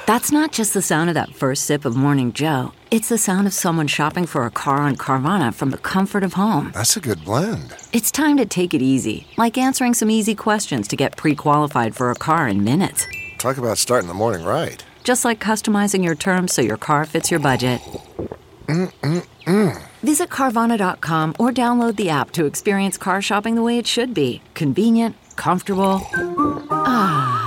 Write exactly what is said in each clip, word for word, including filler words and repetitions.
That's not just the sound of that first sip of Morning Joe. It's the sound of someone shopping for a car on Carvana from the comfort of home. That's a good blend. It's time to take it easy, like answering some easy questions to get pre-qualified for a car in minutes. Talk about starting the morning right. Just like customizing your terms so your car fits your budget. Mm-mm-mm. Visit Carvana dot com or download the app to experience car shopping the way it should be. Convenient, comfortable. Ah.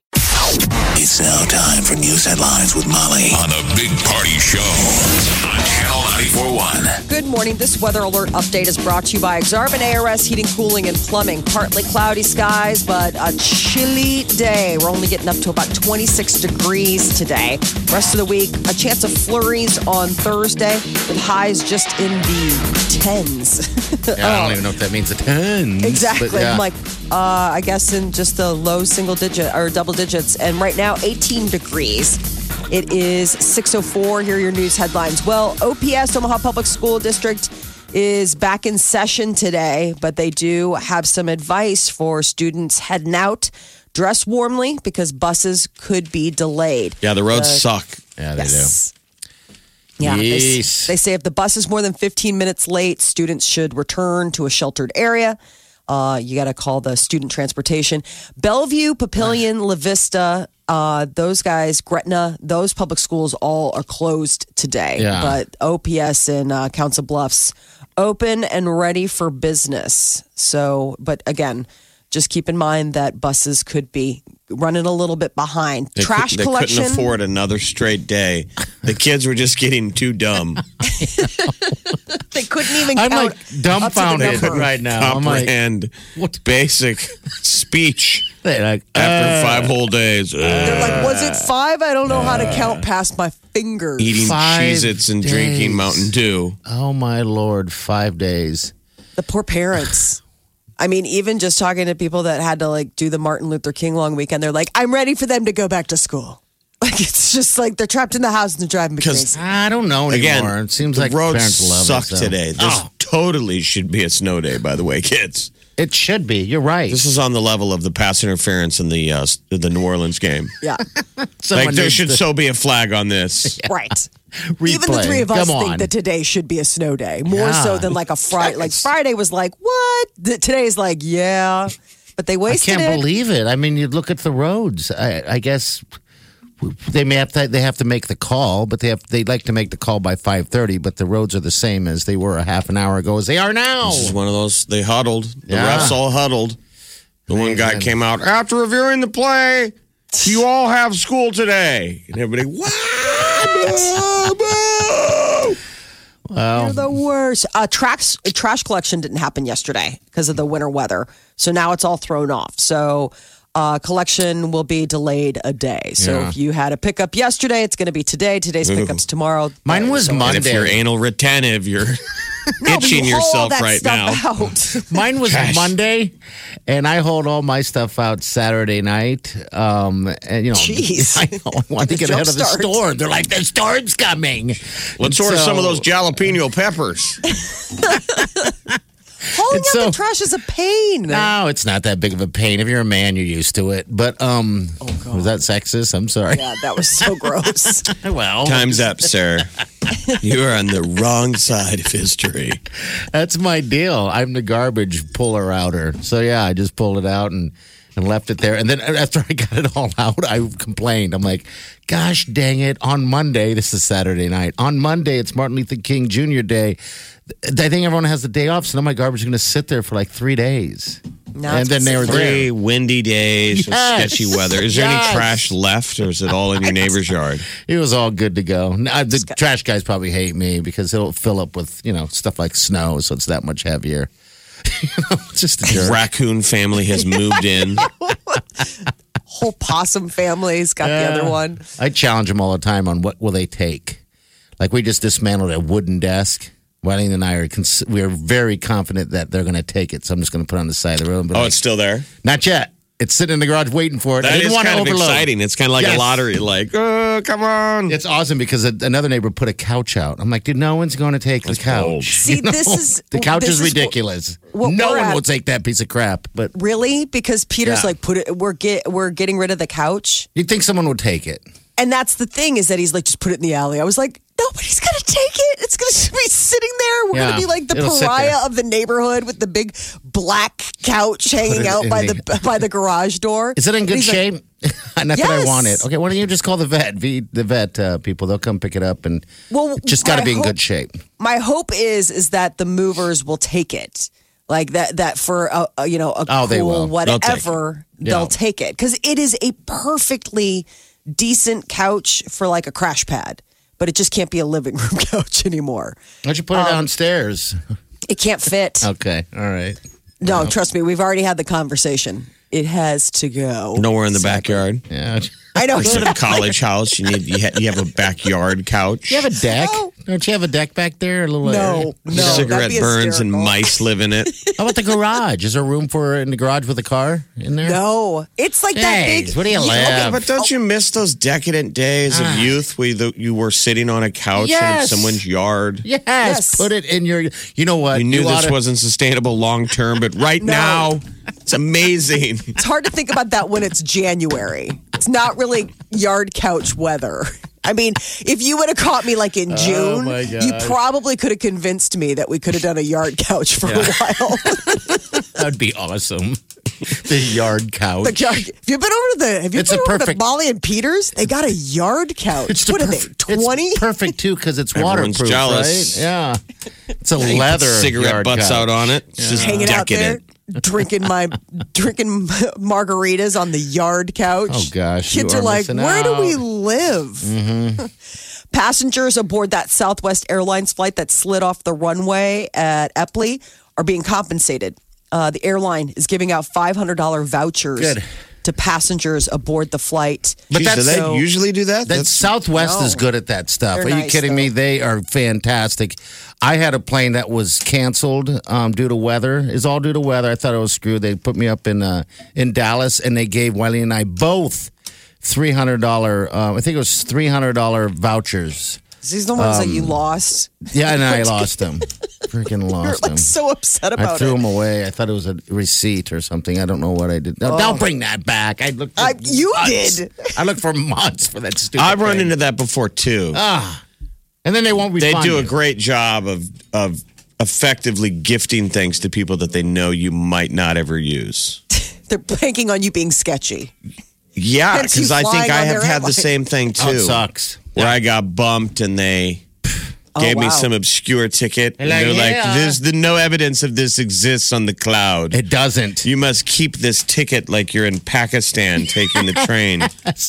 It's now time for news headlines with Molly on the Big Party Show on Channel ninety-four point one. Good morning. This weather alert update is brought to you by Exarban A R S Heating, Cooling, and Plumbing. Partly cloudy skies, but a chilly day. We're only getting up to about twenty-six degrees today. Rest of the week, a chance of flurries on Thursday with highs just in the tens. Yeah, I don't even know if that means a tens. Exactly. But yeah. I'm like, uh, I guess in just the low single digit or double digits. And right now, eighteen degrees. It is six oh four. Here are your news headlines. Well, O P S, Omaha Public School District, is back in session today, but they do have some advice for students heading out. Dress warmly because buses could be delayed. Yeah, the roads uh, suck. Yeah, they yes. do. Yeah, yes. they, they say if the bus is more than fifteen minutes late, students should return to a sheltered area. Uh, you got to call the student transportation. Bellevue, Papillion, La Vista, uh, those guys, Gretna, those public schools all are closed today. Yeah. But O P S and uh, Council Bluffs open and ready for business. So, but again, just keep in mind that buses could be running a little bit behind. They Trash could, they collection. couldn't afford another straight day. The kids were just getting too dumb. They couldn't even I'm count like dumbfounded up to the number. right now. I'm like, Comprehend what? basic speech They're like, after uh, five whole days. Uh, They're like, was it five? I don't know how to count past my fingers. eating Five Cheez-Its and drinking days. Mountain Dew. Oh my Lord, five days. The poor parents. I mean, even just talking to people that had to like do the Martin Luther King long weekend, they're like, I'm ready for them to go back to school. Like, it's just like they're trapped in the house and they're driving me crazy. I don't know anymore. Again, it seems the like roads parents love suck it, so. today. This Oh, totally should be a snow day, by the way, kids. it should be. You're right. This is on the level of the pass interference in the uh, the New Orleans game. Yeah, Someone like there needs should to so be a flag on this. right. replay. Even the three of us Come think on. that today should be a snow day, more Yeah. so than like a Friday. Like Friday was like, what? Th- Today's like, yeah. But they I wasted can't it. believe it. I mean, you look at the roads. I, I guess they may have to. They have to make the call, but they have. They'd like to make the call by five thirty. But the roads are the same as they were a half an hour ago as they are now. This is one of those. They huddled. The Yeah. refs all huddled. The one guy Amazing. came out after reviewing the play. You all have school today, and everybody. What? Boo, boo. They're the worst. Uh, trash, trash collection didn't happen yesterday because of the winter weather. So now it's all thrown off. So uh, collection will be delayed a day. So Yeah. if you had a pickup yesterday, it's going to be today. Today's pickup's tomorrow. Mine was So- And if Monday. you're anal retentive, you're No, but itching you haul yourself that right stuff now. out. Mine was Gosh. Monday, and I hauled all my stuff out Saturday night. Um, and you know, Jeez. I, know, I wanted to get ahead of the Jumpstart. storm. They're like, the storm's coming. Let's order some of those jalapeno peppers. Hauling It's out so- the trash is a pain. No, it's not that big of a pain. If you're a man, you're used to it. But um, was that sexist? I'm sorry. Yeah, that was so gross. Well, Time's up, sir. You are on the wrong side of history. that's my deal. I'm the garbage puller outer. So yeah, I just pulled it out and, and left it there. And then after I got it all out, I complained. I'm like, gosh dang it. On Monday, this is Saturday night. On Monday, it's Martin Luther King Junior Day. I think everyone has the day off, so now my garbage is going to sit there for like three days. No, and it's then they were Three there. windy days, with Yes. sketchy weather. Is there Yes. any trash left, or is it all in your neighbor's yard? It was all good to go. Now, the trash guys probably hate me because it'll fill up with, you know, stuff like snow, so it's that much heavier. You know, just a jerk. Raccoon family has moved in. Whole possum family's got Yeah. the other one. I challenge them all the time on what will they take. Like we just dismantled a wooden desk. Wellington and I are cons- we are very confident that they're going to take it. So I'm just going to put it on the side of the room. But Oh, like, it's still there? not yet. It's sitting in the garage waiting for it. I That didn't is want to kind of overload. exciting. It's kind of like Yes. a lottery. Like, oh, come on. It's awesome because a, another neighbor put a couch out. I'm like, dude, no one's going to take That's the couch. bold. See, You know? this is- the couch this is is what- ridiculous. what no we're one at- will take that piece of crap. But Really? Because Peter's Yeah. like, put it. We're get we're getting rid of the couch. you'd think someone would take it. And that's the thing is that he's like, just put it in the alley. I was like, nobody's going to take it. It's going to be sitting there. We're Yeah, going to be like the it'll sit pariah there. of the neighborhood with the big black couch hanging it out in by the- the by the garage door. Is it in And good he's like, shape? Not that I Yes. want it. Okay, why don't you just call the vet? V, the vet uh, people, they'll come pick it up, and Well, it just got to I be in hope- good shape. My hope is is that the movers will take it. Like that, that for a, a you know a Oh, they will. cool They'll take whatever it. they'll Yeah. take it because it is a perfectly decent couch for like a crash pad, but it just can't be a living room couch anymore. Why don't you put it downstairs? It can't fit. Okay, all right. No, trust me, we've already had the conversation. It has to go. Nowhere in the backyard. Yeah. I know. Instead of college house, you need you, ha- you have a backyard couch. You have a deck? No. Don't you have a deck back there? A little No, area? no. Cigarette that'd be burns and hysterical. mice live in it. How about the garage? Is there room for in the garage with a car in there? No, it's like that Hey, big. where do you live? Yeah, but don't you miss those decadent days of youth where you, you were sitting on a couch in Yes. someone's yard? Yes, Yes. put it in your. You know what? You knew this oughta- wasn't sustainable long term, but right No. now, it's amazing. It's hard to think about that when it's January. It's not really yard couch weather. I mean, if you would have caught me like in June, my you gosh. probably could have convinced me that we could have done a yard couch for a while. That would be awesome. The yard couch. The yard- have you been over to the? Have you It's been a over perfect- to Molly and Peters? They got a yard couch. It's the what are they? perf- it's Twenty? perfect too because it's Everyone's waterproof, jealous. right? Yeah, it's a You put leather cigarette yard butts couch. out on it. It's just Hanging out there, decadent. drinking my drinking margaritas on the yard couch. Oh, gosh, kids you are, are like, missing where do we out." live? Passengers aboard that Southwest Airlines flight that slid off the runway at Epley are being compensated. Uh, the airline is giving out five hundred dollars vouchers Good. to passengers aboard the flight. But Jeez, that's do they so- usually do that? That Southwest No. is good at that stuff. They're Are you nice, kidding me? though. They are fantastic. I had a plane that was canceled um, due to weather. It's all due to weather. I thought it was screwed. They put me up in uh, in Dallas, and they gave Wiley and I both three hundred dollar. Uh, I think it was three hundred dollar vouchers. These are the ones that you Um, lost. Yeah, and I lost them. Freaking You're lost like them. so upset I about threw it. them away. I thought it was a receipt or something. I don't know what I did. No, don't bring that back. I looked. For I- you months. did. I looked for months for that stupid. I've run thing. into that before too. ah, and then they won't they refund do a you. great job of of effectively gifting things to people that they know you might not ever use. They're banking on you being sketchy. Yeah, Hence you because I think flying I on have their had the airline. same thing too. Oh, it sucks. Where I got bumped and they gave me wow. some obscure ticket. And Like, they're like, yeah. "There's the no evidence of this exists on the cloud. It doesn't. You must keep this ticket like you're in Pakistan taking the train."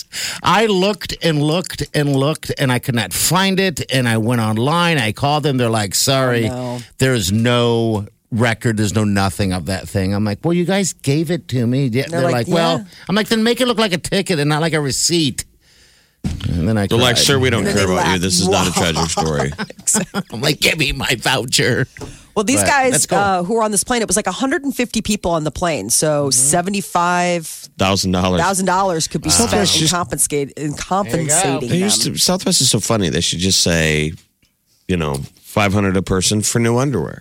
I looked and looked and looked, and I could not find it. And I went online. I called them. They're like, "Sorry, Oh, no. there's no record. There's no nothing of that thing." I'm like, "Well, you guys gave it to me." Yeah, They're, like, like, "Well," "Yeah." I'm like, "Then make it look like a ticket and not like a receipt." And then I They're like, cried. "Sir, we don't And then care they about you. laugh. This is not a treasure story." I'm like, "Give me my voucher." Well, these But guys that's cool. uh, who were on this plane, it was like one hundred fifty people on the plane. So seventy-five Thousand dollars. thousand dollars could be spent Southwest in, just- compensate, in compensating They them. used to, Southwest is so funny. They should just say, you know, five hundred a person for new underwear.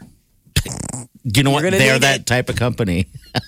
You know what? gonna They're need that it. type of company.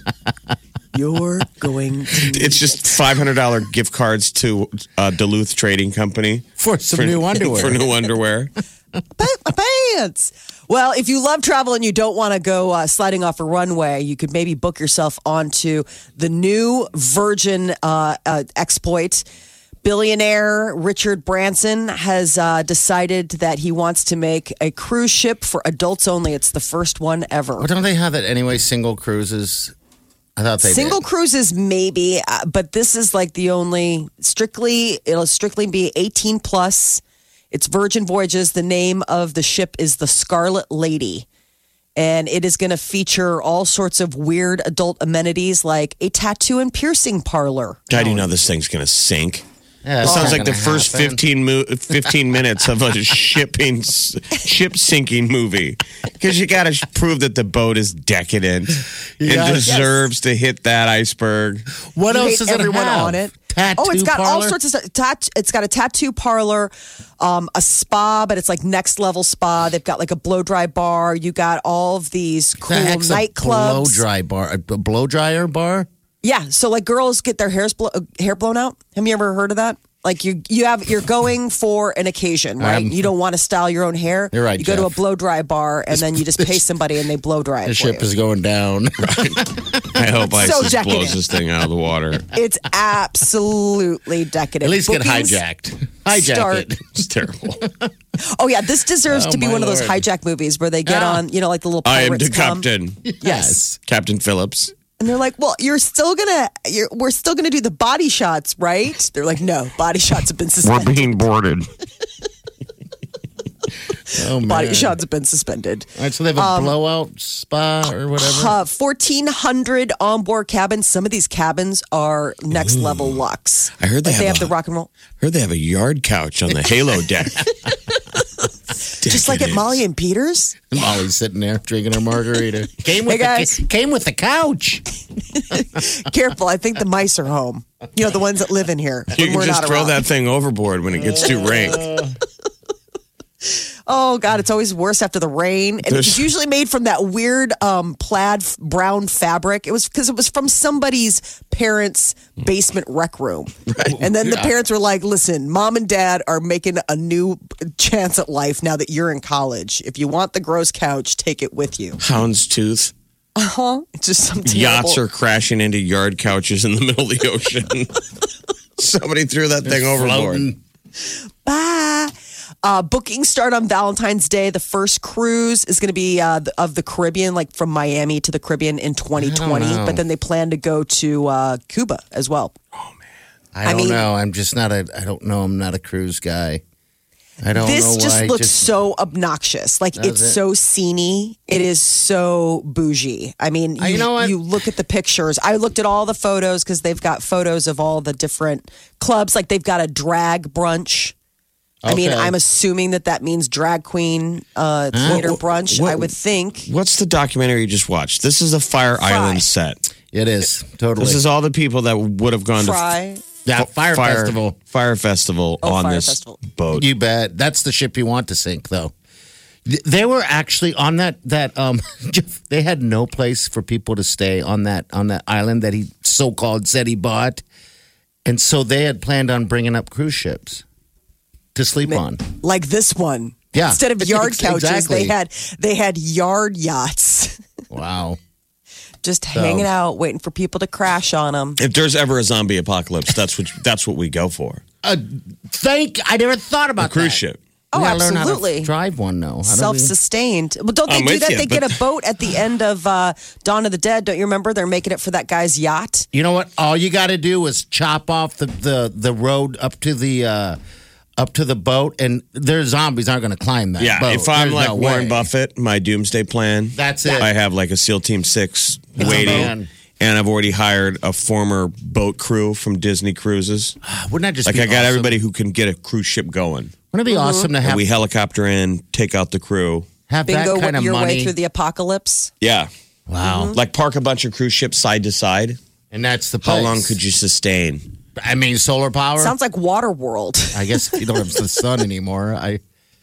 You're going to. It's just five hundred dollar gift cards to uh, Duluth Trading Company For some new underwear. For new underwear. Put my pants. Well, if you love travel and you don't want to go uh, sliding off a runway, you could maybe book yourself onto the new Virgin uh, uh, exploit. Billionaire Richard Branson has uh, decided that he wants to make a cruise ship for adults only. It's the first one ever. Well, don't they have that anyway? Single cruises. I thought they Single did. cruises, maybe, uh, but this is like the only strictly, it'll strictly be eighteen plus. It's Virgin Voyages. The name of the ship is the Scarlet Lady. And it is going to feature all sorts of weird adult amenities like a tattoo and piercing parlor. God, you know this thing's going to sink. Yeah, It it's sounds not like the gonna first happen. fifteen, mo- fifteen minutes of a shipping ship sinking movie because you got to prove that the boat is decadent. It gotta- deserves to hit that iceberg. What You else hate does it everyone have? on it. Tattoo Oh, it's got parlor? all sorts of stuff. Tat- it's got a tattoo parlor, um, a spa, but it's like next level spa. They've got like a blow dry bar. You got all of these cool The heck's a blow nightclubs. dry bar, a blow dryer bar. Yeah, so like girls get their hairs blo- uh, hair blown out. Have you ever heard of that? Like you, you have, you're going for an occasion, right? Um, you don't want to style your own hair. You're right, You go to a Jeff. blow dry bar, and then you just pay somebody, and they blow dry it The for ship you. is going down. I hope So ISIS decadent. blows this thing out of the water. It's absolutely decadent. At least get Bookings hijacked. Hijack start- it. It's terrible. Oh yeah, this deserves Oh, to be my one of those Lord. hijack movies where they get Ah. on, you know, like the little I am pirates the come. captain. Yes. Captain Phillips. And they're like, "Well, you're still gonna, you're, we're still gonna do the body shots, right?" They're like, "No, body shots have been suspended. being boarded. Oh, man. Body shots have been suspended." All right, so they have a blowout spa or whatever. Uh, fourteen hundred onboard cabins. Some of these cabins are next level luxe. I heard they Like they have have a- the rock and roll, Heard they have a yard couch on the Halo deck. just like at Molly and Peter's. Molly's sitting there drinking her margarita. Came with Hey, guys. The, came with the couch. Careful, I think the mice are home. You know, the ones that live in here. You when can we're just not throw around. that thing overboard when it gets too rank. Oh God, it's always worse after the rain, and There's- it's usually made from that weird um, plaid f- brown fabric. It was because it was from somebody's parents' basement rec room, and then the parents were like, "Listen, mom and dad are making a new chance at life now that you're in college. If you want the gross couch, take it with you." Houndstooth. Huh? It's just some terrible. Yachts are crashing into yard couches in the middle of the ocean. Somebody threw that thing overboard. Floating. Bye. Uh, bookings start on Valentine's Day. The first cruise is going to be uh, the- of the Caribbean, like from Miami to the Caribbean in twenty twenty. know. But then they plan to go to uh, Cuba as well. I I don't mean- know. I'm just not a. I don't know. I'm not a cruise guy. I don't This know just why. looks so obnoxious. Like Does it's it? so sceney. It is so bougie. I mean, you, Uh, you know what? you look at the pictures. I looked at all the photos because they've got photos of all the different clubs. Like they've got a drag brunch. I mean, Okay. I'm assuming that that means drag queen uh, theater What- brunch. what- I would think. What's the documentary you just watched? This is a Fire Fry. Island set. It is totally. This is all the people that would have gone Fry. yeah, to fire, festival. Fire Festival Oh, on Fire this Festival. boat. You bet. That's the ship you want to sink, though. Th- They were actually on that that um. They had no place for people to stay on that on that island that he so called said he bought, and so they had planned on bringing up cruise ships to sleep on. Like this one. Yeah. Instead of yard Ex- couches, exactly. they had they had yard yachts. Wow. Just hanging out, waiting for people to crash on them. If there's ever a zombie apocalypse, that's what that's what we go for. Uh, thank. I never thought about A cruise that. ship. Oh, We gotta learn how to absolutely. drive one, though. How do we- Self-sustained. Well, don't they I'm do with that? you, they but- get a boat at the end of uh, Dawn of the Dead. Don't you remember? They're making it for that guy's yacht. You know what? All you got to do is chop off the, the, the road up to the uh, up to the boat, and their zombies aren't going to climb that. Yeah, boat. if I'm There's like no Warren way. Buffett, my doomsday plan. That's it. I have like a SEAL Team Six It's a waiting, man. and I've already hired a former boat crew from Disney Cruises. Wouldn't that just Like be I got awesome? everybody who can get a cruise ship going. Wouldn't it be awesome to And have we helicopter in, take out the crew. have Bingo that kind of your money? way through the apocalypse. Yeah, wow, like park a bunch of cruise ships side to side. and that's the How place. long could you sustain? I mean, solar power. Sounds like Water World. I guess if you don't have the sun anymore, I.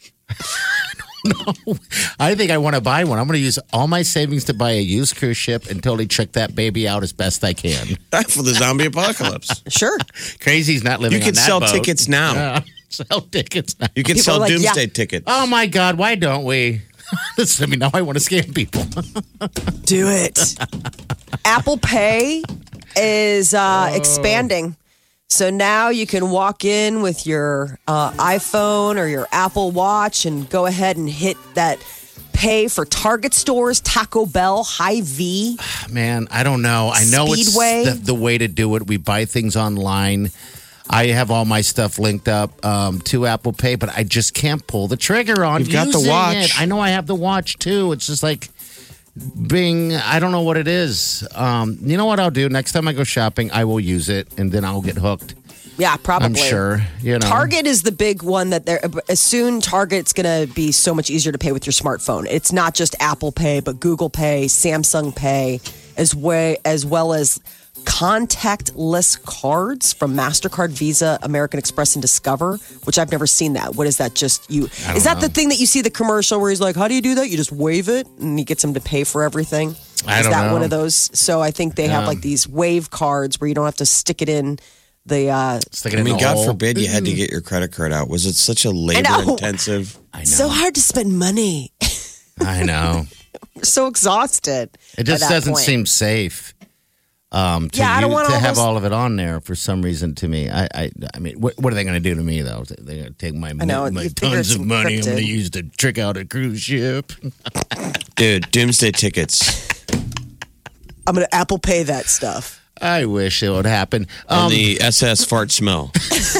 I don't know. I think I want to buy one. I'm going to use all my savings to buy a used cruise ship and totally trick that baby out as best I can. For the zombie apocalypse. Sure. Crazy's not living. You can on that sell boat. tickets now. Yeah, sell tickets now. You can People sell are like, doomsday yeah. tickets. Oh my God! Why don't we? Listen to me now. I want to scam people. Do it. Apple Pay is uh, expanding. So now you can walk in with your uh, iPhone or your Apple Watch and go ahead and hit that pay for Target stores, Taco Bell, Hy-Vee. Man, I don't know. I know Speedway. it's the, the way to do it. We buy things online. I have all my stuff linked up um, to Apple Pay, but I just can't pull the trigger on You've got the using watch. it. I know I have the watch too. It's just like being, I don't know what it is. Um, you know what I'll do? Next time I go shopping, I will use it and then I'll get hooked. Yeah, probably. I'm sure. You know, Target is the big one that they're as soon Target's going to be so much easier to pay with your smartphone. It's not just Apple Pay, but Google Pay, Samsung Pay, as way as well as contactless cards from MasterCard, Visa, American Express, and Discover, which I've never seen that. What is that? Just you? Is that the thing that you see the commercial where he's like, "How do you do that? You just wave it," and he gets him to pay for everything. I is don't that know. one of those? So I think they have Yeah. like these wave cards where you don't have to stick it in the. Uh, I mean, God forbid you had to get your credit card out. Was it such a labor-intensive? I know. So hard to spend money. I know. We're so exhausted. It just by that doesn't point. seem safe. Um, to Yeah, I don't you- want to all have those- all of it on there for some reason. To me, I, I, I mean, what, what are they going to do to me though? They're going to take my, know, my you figure tons it's of money I'm going to encrypted. use to trick out a cruise ship. Dude, doomsday tickets I'm going to Apple Pay that stuff. I wish it would happen. on Um, the S S fart smell.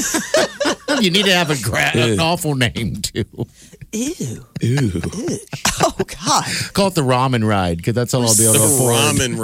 you need to have a gra- an awful name too. Ew. Ooh. Oh, God. Call it the ramen ride because that's all I'll be able to afford. Ramen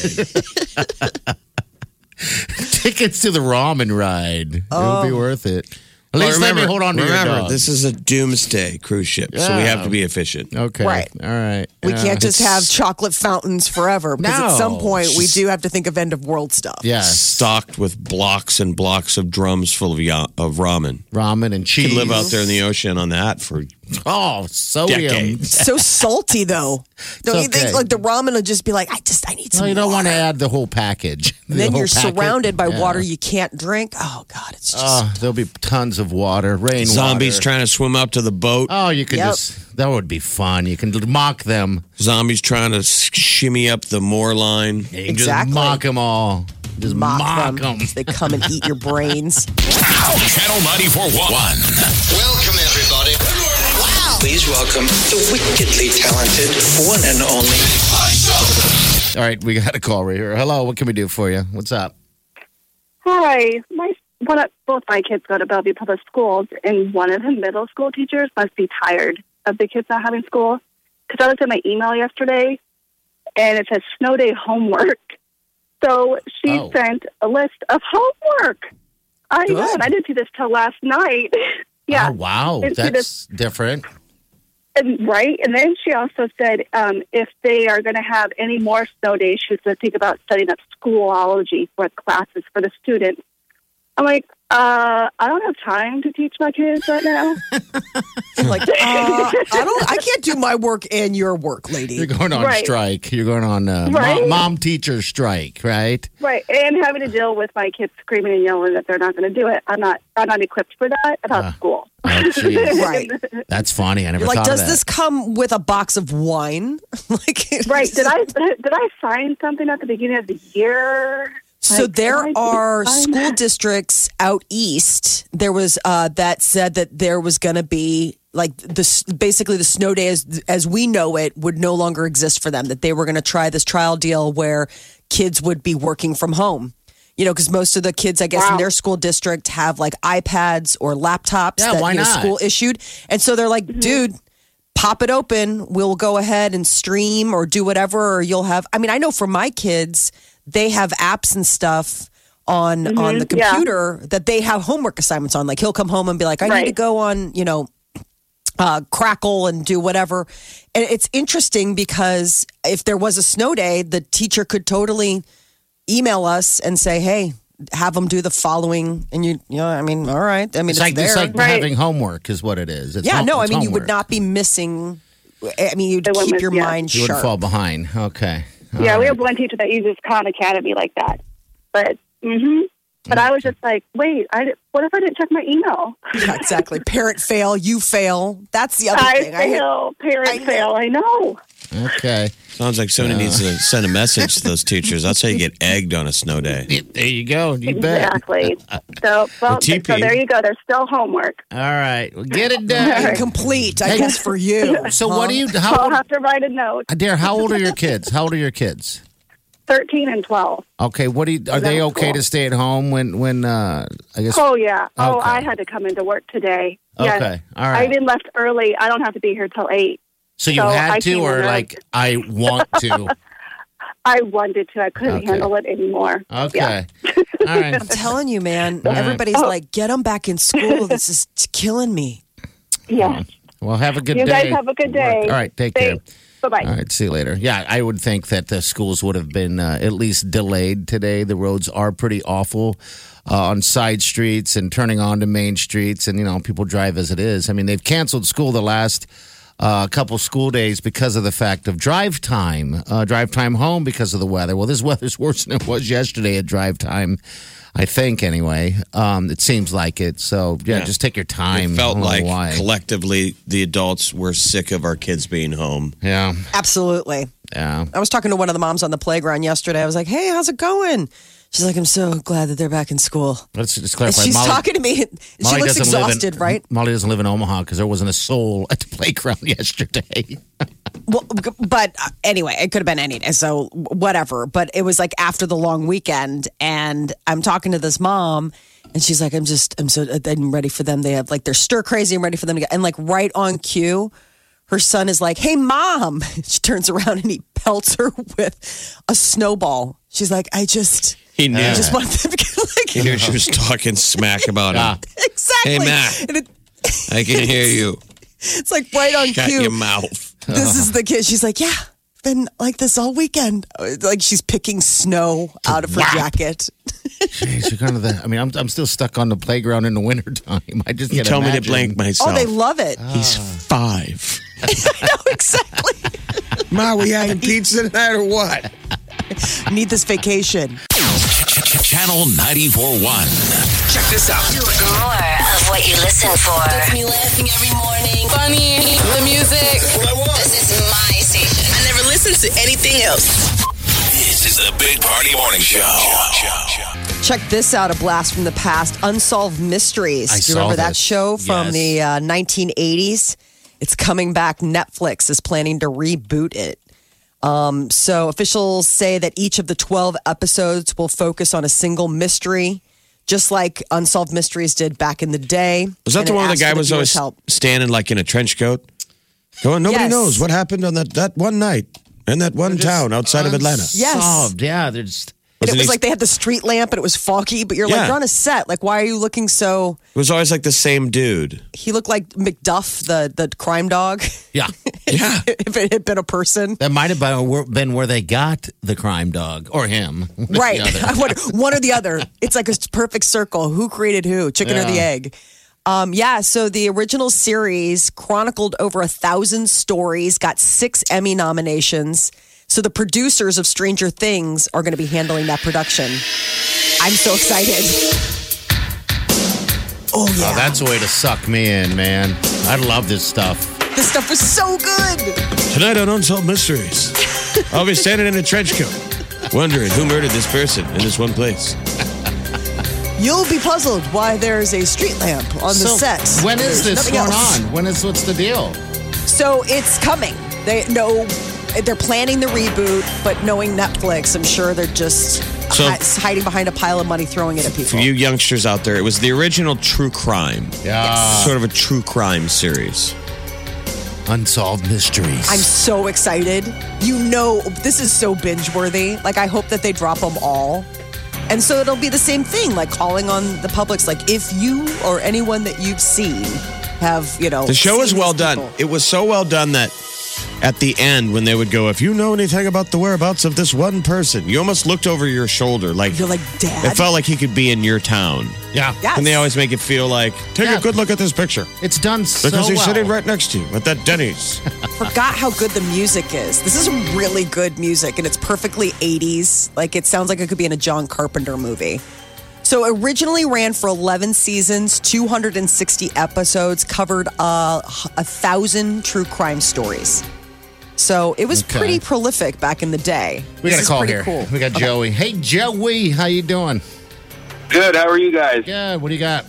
ride. Tickets to the ramen ride. It would be worth it. At Well, least let me hold on to remember, your dog. this is a doomsday cruise ship, so we Yeah. have to be efficient. Okay. Right. All right. We Yeah. can't just It's- have chocolate fountains forever because at No. some point we do have to think of end of world stuff. Yes. Stocked with blocks and blocks of drums full of, ya- of ramen. Ramen and You cheese. could live out there in the ocean on that for Oh, sodium. decades. So salty though. Don't It's you think okay. like the ramen will just be like, I just I need some Well, you don't water. want to add the whole package. And The then whole you're packet. surrounded by Yeah. water you can't drink. Oh God, it's just Oh, there'll be tons of water, rain zombies water. trying to swim up to the boat. Oh, you could Yep. just, that would be fun. You can mock them. Zombies trying to s- shimmy up the moor line. You can Exactly. just mock them all. Just mock, mock, them. them. They come and eat your brains. Channel ninety-four point one. Welcome, everybody. Wow. Please welcome the wickedly talented one and only. All right, we got a call right here. Hello, what can we do for you? What's up? Hi, my one of, both my kids go to Bellevue Public Schools, and one of the middle school teachers must be tired of the kids not having school. Because I looked at my email yesterday, and it says snow day homework. So she Oh. sent a list of homework. I Good. know, and I didn't see this till last night. yeah, Oh, wow. Didn't see That's different. and, right. And then she also said um, if they are going to have any more snow days, she's going to think about setting up schoolology for classes for the students. I'm like, uh, I don't have time to teach my kids right now. Like, uh, I don't. I can't do my work and your work, lady. You're going on Right. strike. You're going on uh, Right. mom, mom teacher strike, right? Right, and having to deal with my kids screaming and yelling that they're not going to do it. I'm not. I'm not equipped for that about Uh, school. Oh, jeez. Right. That's funny. I never You're like, thought does of that. this come with a box of wine? like, Right? Did I did I sign something at the beginning of the year? So Like, there did I are sign school that? districts out east. There was uh, that said that there was going to be like this. Basically, the snow day as as we know it would no longer exist for them. That they were going to try this trial deal where kids would be working from home. You know, because most of the kids, I guess, in Wow. their school district have like iPads or laptops Yeah, that why you know, not? school issued, and so they're like, dude. Pop it open. We'll go ahead and stream or do whatever, or you'll have. I mean, I know for my kids, they have apps and stuff on on the yeah. computer that they have homework assignments on. Like he'll come home and be like, I need Right. to go on, you know, uh, Crackle and do whatever. And it's interesting because if there was a snow day, the teacher could totally email us and say, hey, have them do the following. And you, you know, I mean, all right. I mean, It's it's, like, there. it's like Right. having homework is what it is. It's yeah, home- no, I it's mean, you would homework. not be missing. I mean, you'd They wouldn't keep miss- your yeah. mind You wouldn't sharp. fall behind. Okay. All Yeah, we right. have one teacher that uses Khan Academy like that. But mm-hmm. But I was just like, wait, I di- what if I didn't check my email? Yeah, exactly. Parent fail, you fail. That's the other I thing. I- fail, parent I know. fail. I know. Okay. Sounds like somebody needs to send a message to those teachers. That's how you get egged on a snow day. Yeah, there you go. You bet. Exactly. So, well, T P. so there you go. There's still homework. All right. Well, get it done. Incomplete, I Hey. guess, for you. So what do you, So how I'll old, have to write a note. Adair, how old are your kids? How old are your kids? thirteen and twelve. Okay. What do you, are they Middle okay school. to stay at home when, when, uh, I guess. Oh, yeah. Oh, Okay. I had to come into work today. Yes. Okay. All I right. even left early. I don't have to be here till eight. So you so I had to, came or in like, I want to? I wanted to. I couldn't Okay. handle it anymore. Okay. Yeah. All right. I'm telling you, man. right. Everybody's Oh. like, get them back in school. This is killing me. Yes. Well, have a good You day. guys have a good day. All right. Take care. Thanks. Bye-bye. All right, see you later. Yeah, I would think that the schools would have been uh, at least delayed today. The roads are pretty awful uh, on side streets and turning onto main streets, and you know people drive as it is. I mean, they've canceled school the last uh, couple school days because of the fact of drive time, uh, drive time home because of the weather. Well, this weather's worse than it was yesterday at drive time. I think anyway. Um, it seems like it. So yeah, Yeah. just take your time. It felt I don't know like why. collectively the adults were sick of our kids being home. Yeah, Absolutely. yeah. I was talking to one of the moms on the playground yesterday. I was like, hey, how's it going? She's like, I'm so glad that they're back in school. Let's just And clarify. she's Molly, talking to me. and She Molly looks doesn't live exhausted, in, right? Molly doesn't live in Omaha because there wasn't a soul at the playground yesterday. Well, but uh, anyway, it could have been any day, so whatever. But it was like after the long weekend, and I'm talking to this mom, and she's like, "I'm just, I'm so, I'm ready for them. They have like they're stir crazy. I'm ready for them to get." And like right on cue, her son is like, "Hey, mom!" She turns around and he pelts her with a snowball. She's like, "I just, He knew. I just want them to get like He knew she was talking smack about him. exactly." Hey, Matt. And it, I can hear you. it's like right on Shut cue. your mouth. This is the kid. She's like, yeah, been like this all weekend. Like she's picking snow out of her jacket. Jeez, you're kind of the. I mean, I'm I'm still stuck on the playground in the wintertime. I just You can't tell me to imagine. blank myself. Oh, they love it. He's five. I know exactly. Ma, we having pizza tonight or what? Need this vacation. Channel ninety-four point one. Check this out. More of what you listen for. Gets me laughing every morning. Funny. The music. That's what I want. This is my station. I never listen to anything else. This is the Big Party Morning Show. Check this out, a blast from the past. Unsolved Mysteries. I Do you saw remember that this. show from Yes. the uh, nineteen eighties? It's coming back. Netflix is planning to reboot it. Um, so officials say that each of the twelve episodes will focus on a single mystery, just like Unsolved Mysteries did back in the day. Was that And the it one where the asked guy for was viewers' always help. standing like in a trench coat? Going, nobody Yes. knows what happened on that, that one night in that one town outside of Atlanta. Yes. Solved. Yeah, they're just. And it Wasn't was he- like they had the street lamp and it was foggy, but you're like, Yeah. you're on a set. Like, why are you looking so. It was always like the same dude. He looked like McDuff, the, the crime dog, Yeah, Yeah. if it had been a person. that might have been been where they got the crime dog or him. One or the Right. other. I wonder, one or the other. It's like a perfect circle. Who created who? Chicken or the Yeah. egg? Um, yeah, so the original series chronicled over a thousand stories, got six Emmy nominations. So the producers of Stranger Things are going to be handling that production. I'm so excited. Oh, yeah. Oh, that's a way to suck me in, man. I love this stuff. This stuff was so good. Tonight on Unsolved Mysteries, I'll be standing in a trench coat, wondering who murdered this person in this one place. You'll be puzzled why there's a street lamp on the So, set. when is There's this nothing going else. on? When is what's the deal? So it's coming. They know they're planning the reboot, but knowing Netflix, I'm sure they're just So- hi- hiding behind a pile of money, throwing it at people. For you youngsters out there, it was the original true crime. Yeah, Sort of a true crime series. Unsolved Mysteries. I'm so excited. You know, this is so binge worthy. Like, I hope that they drop them all. And so it'll be the same thing, like calling on the public's like, if you or anyone that you've seen have, you know. The show seen was well these done. people. It was so well done that at the end, when they would go, if you know anything about the whereabouts of this one person, you almost looked over your shoulder. Like, You're like, Dad. it felt like he could be in your town. yeah, Yes. And they always make it feel like, take Yeah. a good look at this picture. it's done so Because he's well. sitting right next to you at that Denny's. Forgot how good the music is. This is really good music, and it's perfectly eighties. Like, it sounds like it could be in a John Carpenter movie. So originally ran for eleven seasons, two hundred sixty episodes, covered uh, a thousand true crime stories. So it was Okay. pretty prolific back in the day. We This got a is call pretty here. Cool. We got Joey. Hey, Joey, how you doing? Good. How are you guys? Good. What do you got?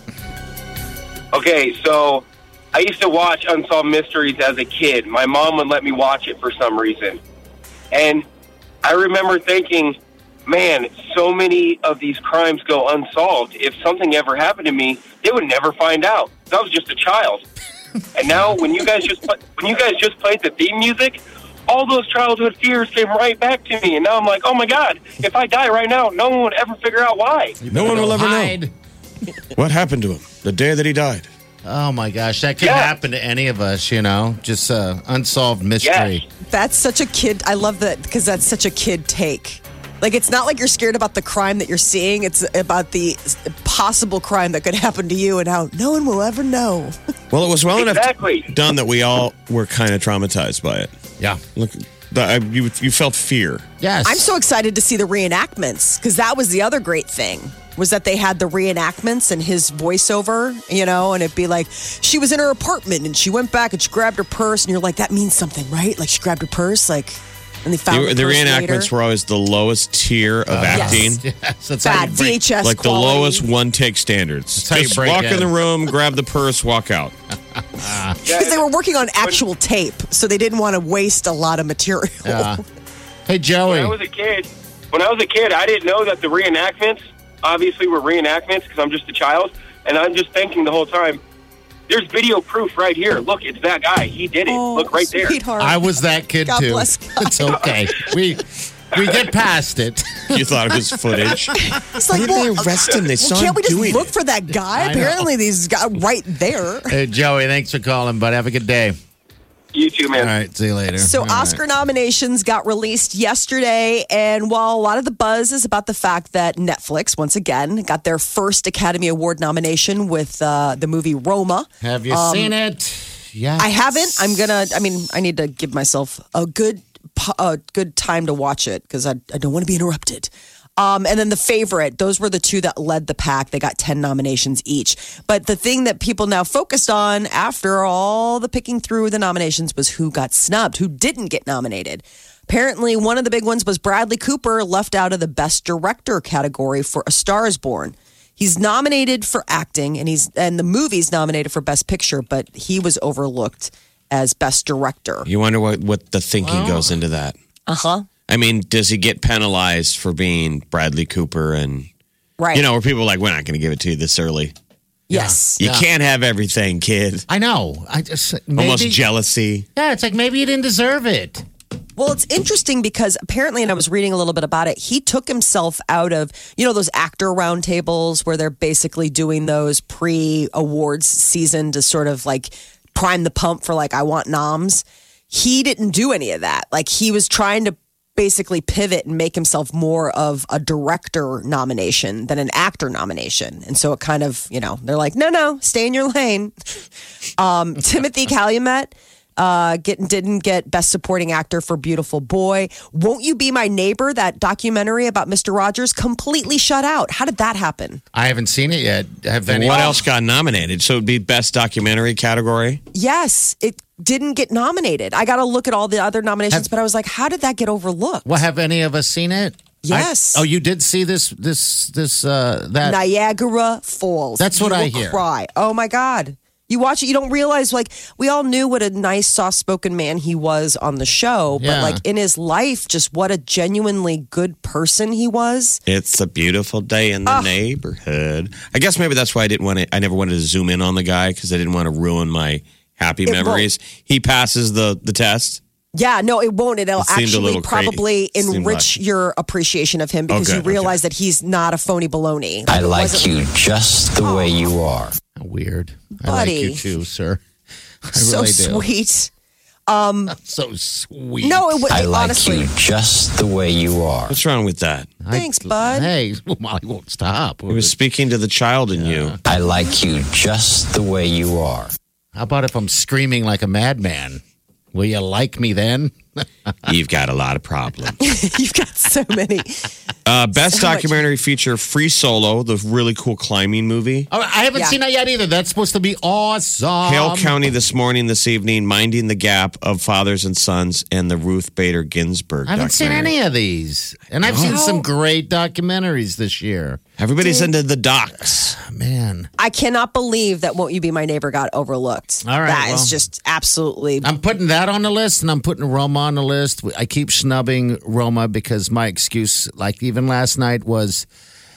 Okay, so I used to watch Unsolved Mysteries as a kid. My mom would let me watch it for some reason. And I remember thinking, man, so many of these crimes go unsolved. If something ever happened to me, they would never find out. I was just a child. And now when you guys just pla- when you guys just played the theme music, all those childhood fears came right back to me. And now I'm like, oh, my God, if I die right now, no one would ever figure out why. No one will ever Hide. know what happened to him the day that he died. Oh my gosh, that could Yeah. happen to any of us. You know, just uh, unsolved mystery. Yes. That's such a kid. I love that because that's such a kid take. Like, it's not like you're scared about the crime that you're seeing. It's about the possible crime that could happen to you and how no one will ever know. Well, it was well Exactly. enough done that we all were kind of traumatized by it. Yeah. Look, The, uh, you you felt fear. Yes. I'm so excited to see the reenactments because that was the other great thing was that they had the reenactments and his voiceover, you know, and it'd be like, she was in her apartment and she went back and she grabbed her purse and you're like, that means something, right? Like she grabbed her purse, like, and they found The, the, the purse reenactments later. were always the lowest tier of acting. Yes, that's how Bad you break- V H S Like quality. the lowest one take standards. how you Just break walk in. in the room, grab the purse, walk out. Because they were working on actual tape, so they didn't want to waste a lot of material. Yeah. Hey, When Joey. I was a kid, when I was a kid, I didn't know that the reenactments obviously were reenactments because I'm just a child, and I'm just thinking the whole time, there's video proof right here. Look, it's that guy. He did it. Oh, Look right there. sweetheart. I was that kid God too. bless God. It's okay. We we get past it. You thought it was footage. It's like, Why did well, they arrest him? They well, saw can't him we just doing look it. for that guy? I know. Apparently, these guys right there. Hey, Joey, thanks for calling, bud. Have a good day. You too, man. All right, see you later. So All right. Oscar nominations got released yesterday, and while a lot of the buzz is about the fact that Netflix, once again, got their first Academy Award nomination with uh, the movie Roma. Have you Um, seen it? Yeah. I haven't. I'm gonna. I mean, I need to give myself a good, pu- a good time to watch it because I, I don't want to be interrupted. Um, and then The Favorite, those were the two that led the pack. They got ten nominations each. But the thing that people now focused on after all the picking through the nominations was who got snubbed, who didn't get nominated. Apparently, one of the big ones was Bradley Cooper, left out of the Best Director category for A Star is Born. He's nominated for acting, and he's and the movie's nominated for Best Picture, but he was overlooked as Best Director. You wonder what, what the thinking goes into that. Uh huh. I mean, does he get penalized for being Bradley Cooper? And, Right. you know, where people are like, we're not going to give it to you this early. Yes. You Yeah. can't have everything, kid. I know. I just maybe, Almost jealousy. Yeah, it's like maybe you didn't deserve it. Well, it's interesting because apparently, and I was reading a little bit about it, he took himself out of, you know, those actor roundtables where they're basically doing those pre awards season to sort of like prime the pump for like, I want noms. He didn't do any of that. Like he was trying to basically pivot and make himself more of a director nomination than an actor nomination. And so it kind of, you know, they're like, no, no, stay in your lane. Um, Timothy Calumet uh, get, didn't get Best Supporting Actor for Beautiful Boy. Won't You Be My Neighbor, that documentary about Mister Rogers, completely shut out. How did that happen? I haven't seen it yet. Have any? What else got nominated? So it'd be best documentary category? Yes, it didn't get nominated. I got to look at all the other nominations, Have- but I was like, how did that get overlooked? Well, have any of us seen it? Yes. I- oh, you did see this? This? This? Uh, that? Niagara Falls. That's what You I will hear. Cry. Oh my God. You watch it, you don't realize, like, we all knew what a nice, soft spoken man he was on the show, but, Yeah. like, in his life, just what a genuinely good person he was. It's a beautiful day in the neighborhood. I guess maybe that's why I didn't want to, I never wanted to zoom in on the guy because I didn't want to ruin my happy It memories. He passes the, the test. Yeah, no, it won't. It'll It seemed a actually little crazy. probably It seemed enrich like- your appreciation of him because Oh, you good, realize that he's not a phony baloney. I It like wasn't- you just the way you are. Weird. I Buddy. like you too, sir. I So really do. sweet. Um, So sweet. no, it was I like honestly. you just the way you are. What's wrong with that? Thanks, bud. Hey, Molly won't stop. He was speaking to the child in you. I like you just the way you are. How about if I'm screaming like a madman? Will you like me then? You've got a lot of problems. You've got so many. Uh, best So much. documentary feature, Free Solo, the really cool climbing movie. Oh, I haven't Yeah. seen that yet either. That's supposed to be awesome. Hale County this morning, this evening, Minding the Gap of Fathers and Sons, and the Ruth Bader Ginsburg I haven't seen documentary. any of these. And I've seen some great documentaries this year. Everybody's into the docs. Man. I cannot believe that Won't You Be My Neighbor got overlooked. All right, That is well. just absolutely. I'm putting that on the list and I'm putting Roma on the list. I keep snubbing Roma because my excuse, like even last night, was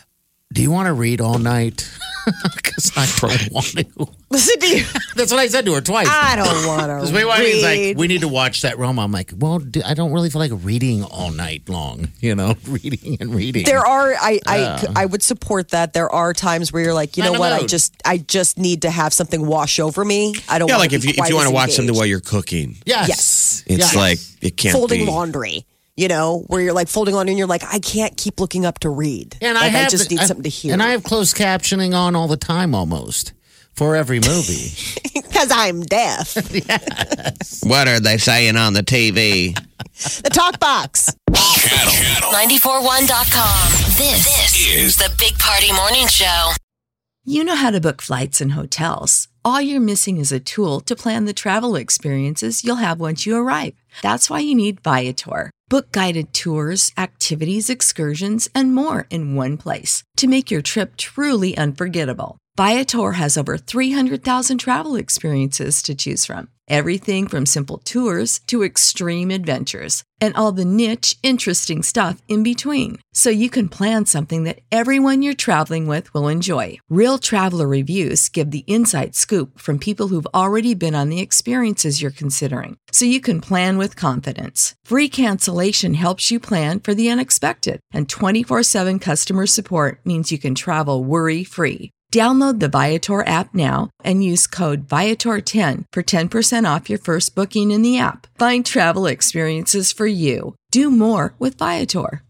do you want to read all night? Because I don't want to. Listen to you. That's what I said to her twice. I don't want to Because we were he's like, read. we need to watch that Roma. I'm like, well, d- I don't really feel like reading all night long, you know, reading and reading. There are, I, I, Yeah. I would support that. There are times where you're like, you Not know in what? the I mood. just, I just need to have something wash over me. I don't. Yeah, wanna like if be you, if quite you want as to watch something engaged. while you're cooking, Yes. Yes. it's Yes. like it can't folding be. laundry. You know, where you're like folding laundry and you're like, I can't keep looking up to read. And like, I, have just the- need I- something to hear. And I have closed captioning on all the time almost for every movie. because I'm deaf. Yes. What are they saying on the T V? The talk box. Channel nine four one dot com. This, this is the Big Party Morning Show. You know how to book flights and hotels. All you're missing is a tool to plan the travel experiences you'll have once you arrive. That's why you need Viator. Book guided tours, activities, excursions, and more in one place to make your trip truly unforgettable. Viator has over three hundred thousand travel experiences to choose from. Everything from simple tours to extreme adventures and all the niche, interesting stuff in between. So you can plan something that everyone you're traveling with will enjoy. Real traveler reviews give the inside scoop from people who've already been on the experiences you're considering. So you can plan with confidence. Free cancellation helps you plan for the unexpected. And twenty-four seven customer support means you can travel worry-free. Download the Viator app now and use code Viator ten for ten percent off your first booking in the app. Find travel experiences for you. Do more with Viator.